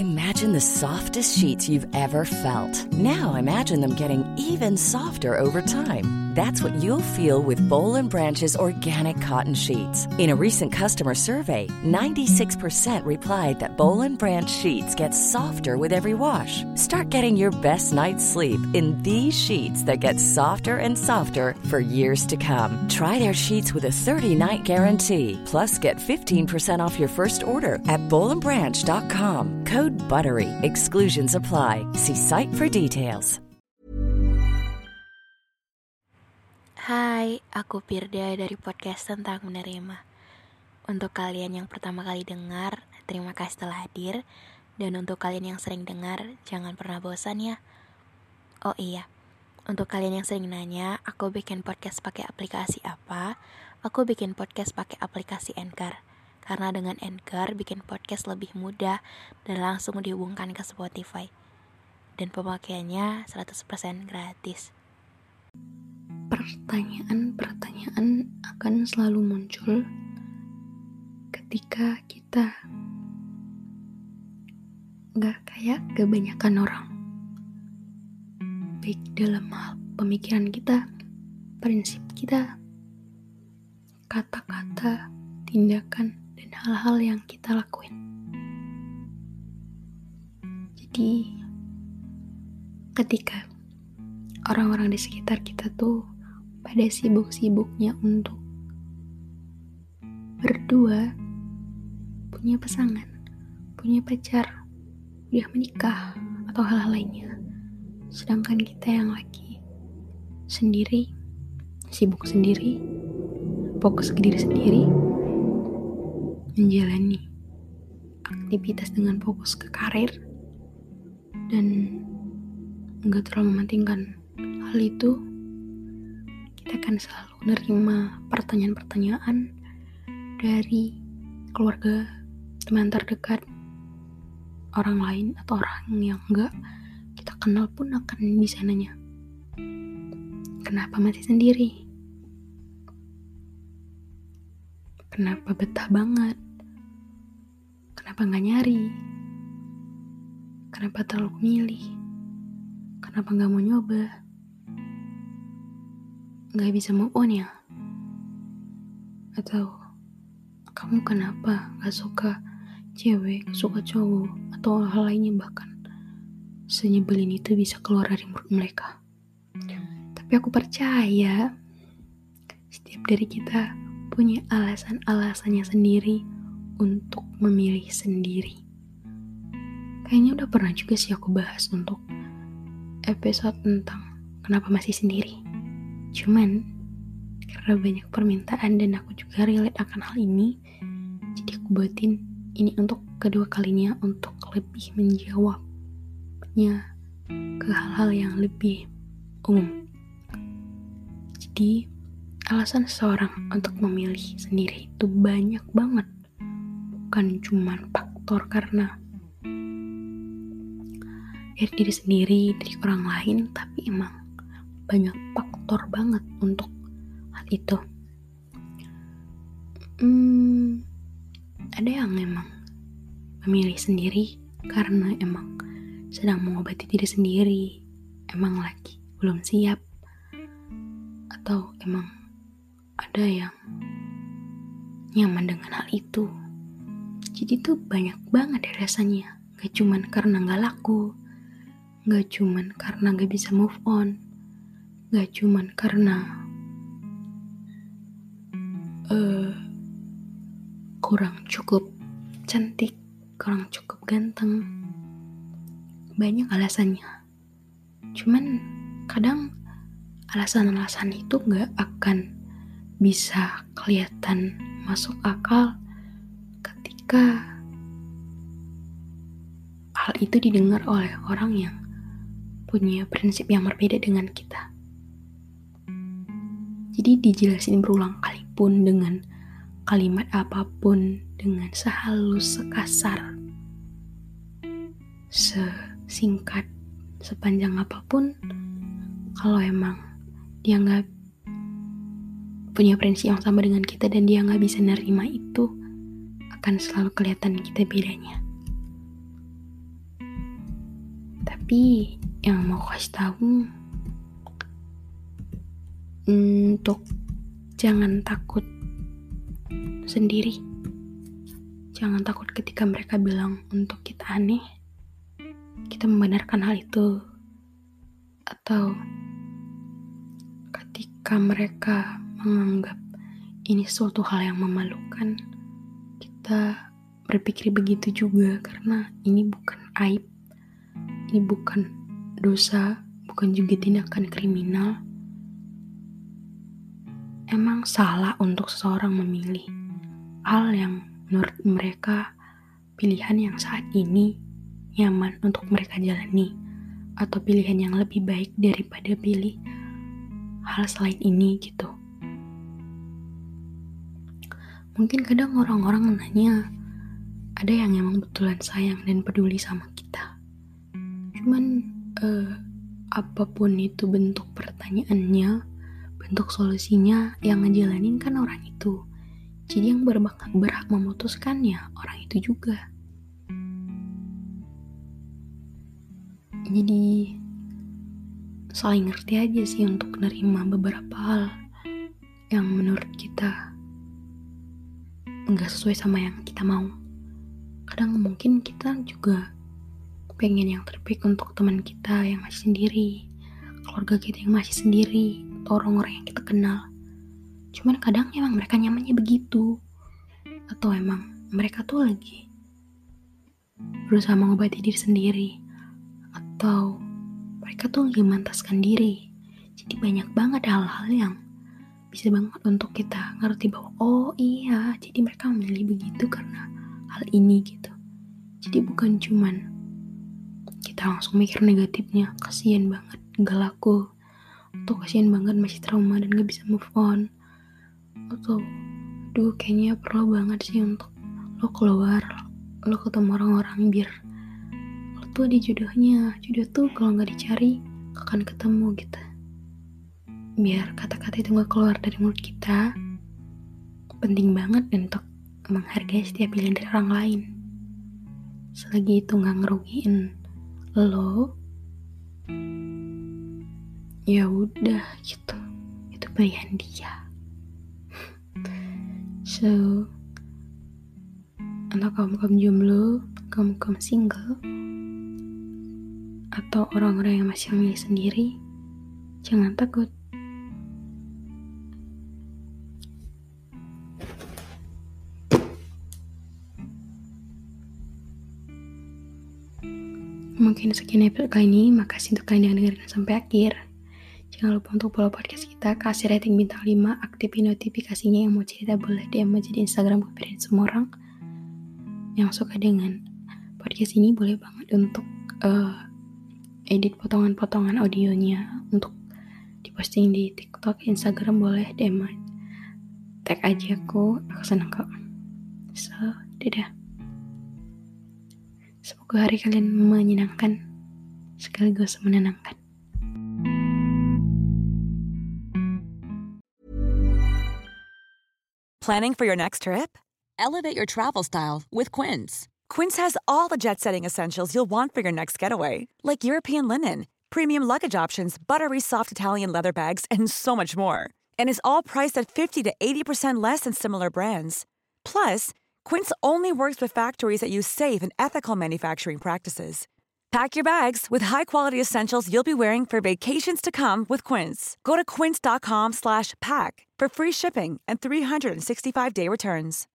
Imagine the softest sheets you've ever felt. Now imagine them getting even softer over time. That's what you'll feel with Boll & Branch's organic cotton sheets. In a recent customer survey, 96% replied that Boll & Branch sheets get softer with every wash. Start getting your best night's sleep in these sheets that get softer and softer for years to come. Try their sheets with a 30-night guarantee. Plus, get 15% off your first order at bollandbranch.com. Code BUTTERY. Exclusions apply. See site for details. Hai, aku Pirda dari podcast tentang menerima. Untuk kalian yang pertama kali dengar, terima kasih telah hadir. Dan untuk kalian yang sering dengar, jangan pernah bosan ya. Oh iya, untuk kalian yang sering nanya, aku bikin podcast pakai aplikasi apa? Aku bikin podcast pakai aplikasi Anchor. Karena dengan Anchor bikin podcast lebih mudah dan langsung dihubungkan ke Spotify. Dan pemakaiannya 100% gratis. Pertanyaan akan selalu muncul ketika kita gak kayak kebanyakan orang. Baik dalam hal pemikiran kita, prinsip kita, kata-kata, tindakan, dan hal-hal yang kita lakuin. Jadi, ketika orang-orang di sekitar kita tuh pada sibuk-sibuknya untuk berdua, punya pasangan, punya pacar, udah menikah, atau hal-hal lainnya. Sedangkan kita yang lagi sendiri, sibuk sendiri, fokus ke diri sendiri, menjalani aktivitas dengan fokus ke karir, dan gak terlalu mementingkan hal itu, kita akan selalu menerima pertanyaan-pertanyaan dari keluarga, teman terdekat, orang lain, atau orang yang gak kita kenal pun akan bisa nanya, kenapa masih sendiri? Kenapa betah banget? Kenapa gak nyari? Kenapa terlalu milih? Kenapa gak mau nyoba? Gak bisa move on ya? Atau kamu kenapa gak suka cewek, gak suka cowok, atau hal lainnya, bahkan senyebelin itu bisa keluar dari mulut mereka. Tapi aku percaya setiap dari kita punya alasan-alasannya sendiri untuk memilih sendiri. Kayaknya udah pernah juga sih aku bahas untuk episode tentang kenapa masih sendiri. Cuman karena banyak permintaan dan aku juga relate akan hal ini, jadi aku buatin ini untuk kedua kalinya untuk lebih menjawabnya ke hal-hal yang lebih umum. Jadi alasan seseorang untuk memilih sendiri itu banyak banget. Bukan cuma faktor karena dari diri sendiri, dari orang lain, tapi emang banyak faktor banget untuk hal itu. Ada yang emang memilih sendiri karena emang sedang mengobati diri sendiri, emang lagi belum siap, atau emang ada yang nyaman dengan hal itu. Jadi tuh banyak banget alasannya. Gak cuman karena gak laku, gak cuman karena gak bisa move on, gak cuman karena kurang cukup cantik, kurang cukup ganteng. Banyak alasannya. Cuman kadang alasan-alasan itu gak akan bisa kelihatan masuk akal ketika hal itu didengar oleh orang yang punya prinsip yang berbeda dengan kita. Jadi dijelasin berulang kali pun dengan kalimat apapun, dengan sehalus, sekasar, sesingkat, sepanjang apapun, kalau emang dia gak punya prinsip yang sama dengan kita dan dia gak bisa nerima itu, akan selalu kelihatan kita bedanya. Tapi yang mau kasih tahu, untuk jangan takut sendiri. Jangan takut ketika mereka bilang untuk kita aneh, kita membenarkan hal itu. Atau ketika mereka menganggap ini suatu hal yang memalukan, kita berpikir begitu juga, karena ini bukan aib, ini bukan dosa, bukan juga tindakan kriminal. Emang salah untuk seseorang memilih hal yang menurut mereka pilihan yang saat ini nyaman untuk mereka jalani, atau pilihan yang lebih baik daripada pilih hal selain ini gitu. Mungkin kadang orang-orang nanya, ada yang emang betulan sayang dan peduli sama kita. Cuman apapun itu bentuk pertanyaannya, bentuk solusinya, yang ngejalanin kan orang itu. Jadi yang berhak memutuskan ya orang itu juga. Jadi saling ngerti aja sih untuk menerima beberapa hal yang menurut kita nggak sesuai sama yang kita mau. Kadang mungkin kita juga pengen yang terbaik untuk teman kita yang masih sendiri, keluarga kita yang masih sendiri, atau orang-orang yang kita kenal. Cuman kadang emang mereka nyamannya begitu, atau emang mereka tuh lagi berusaha mengobati diri sendiri, atau mereka tuh lagi memantaskan diri. Jadi banyak banget hal-hal yang bisa banget untuk kita ngerti bahwa oh iya, jadi mereka memilih begitu karena hal ini gitu. Jadi bukan cuman kita langsung mikir negatifnya, kasihan banget gak laku, atau kasihan banget masih trauma dan gak bisa move on, atau aduh kayaknya perlu banget sih untuk lo keluar, lo ketemu orang-orang biar lo tuh ada jodohnya. Jodoh tuh kalau gak dicari akan ketemu gitu. Biar kata-kata itu gak keluar dari mulut kita, penting banget untuk menghargai setiap pilihan dari orang lain. Selagi itu gak ngerugiin lo, ya udah gitu, itu pilihan dia. So, untuk kamu jomblo, kamu single, atau orang-orang yang masih memilih sendiri, jangan takut. Mungkin sekian episode kali ini. Makasih untuk kalian yang dengerin sampai akhir. Jangan lupa untuk follow podcast kita, kasih rating bintang 5, aktifin notifikasinya. Yang mau cerita boleh DM aja di Instagram kepada semua orang. Yang suka dengan podcast ini boleh banget untuk edit potongan-potongan audionya untuk diposting di TikTok, Instagram, boleh DM aja. Tag aja aku senang kok. So, dadah. Semoga hari kalian menyenangkan sekaligus menenangkan. Planning for your next trip? Elevate your travel style with Quince. Quince has all the jet-setting essentials you'll want for your next getaway, like European linen, premium luggage options, buttery soft Italian leather bags, and so much more. And is all priced at 50 to 80% less than similar brands. Plus, Quince only works with factories that use safe and ethical manufacturing practices. Pack your bags with high-quality essentials you'll be wearing for vacations to come with Quince. Go to quince.com/pack for free shipping and 365-day returns.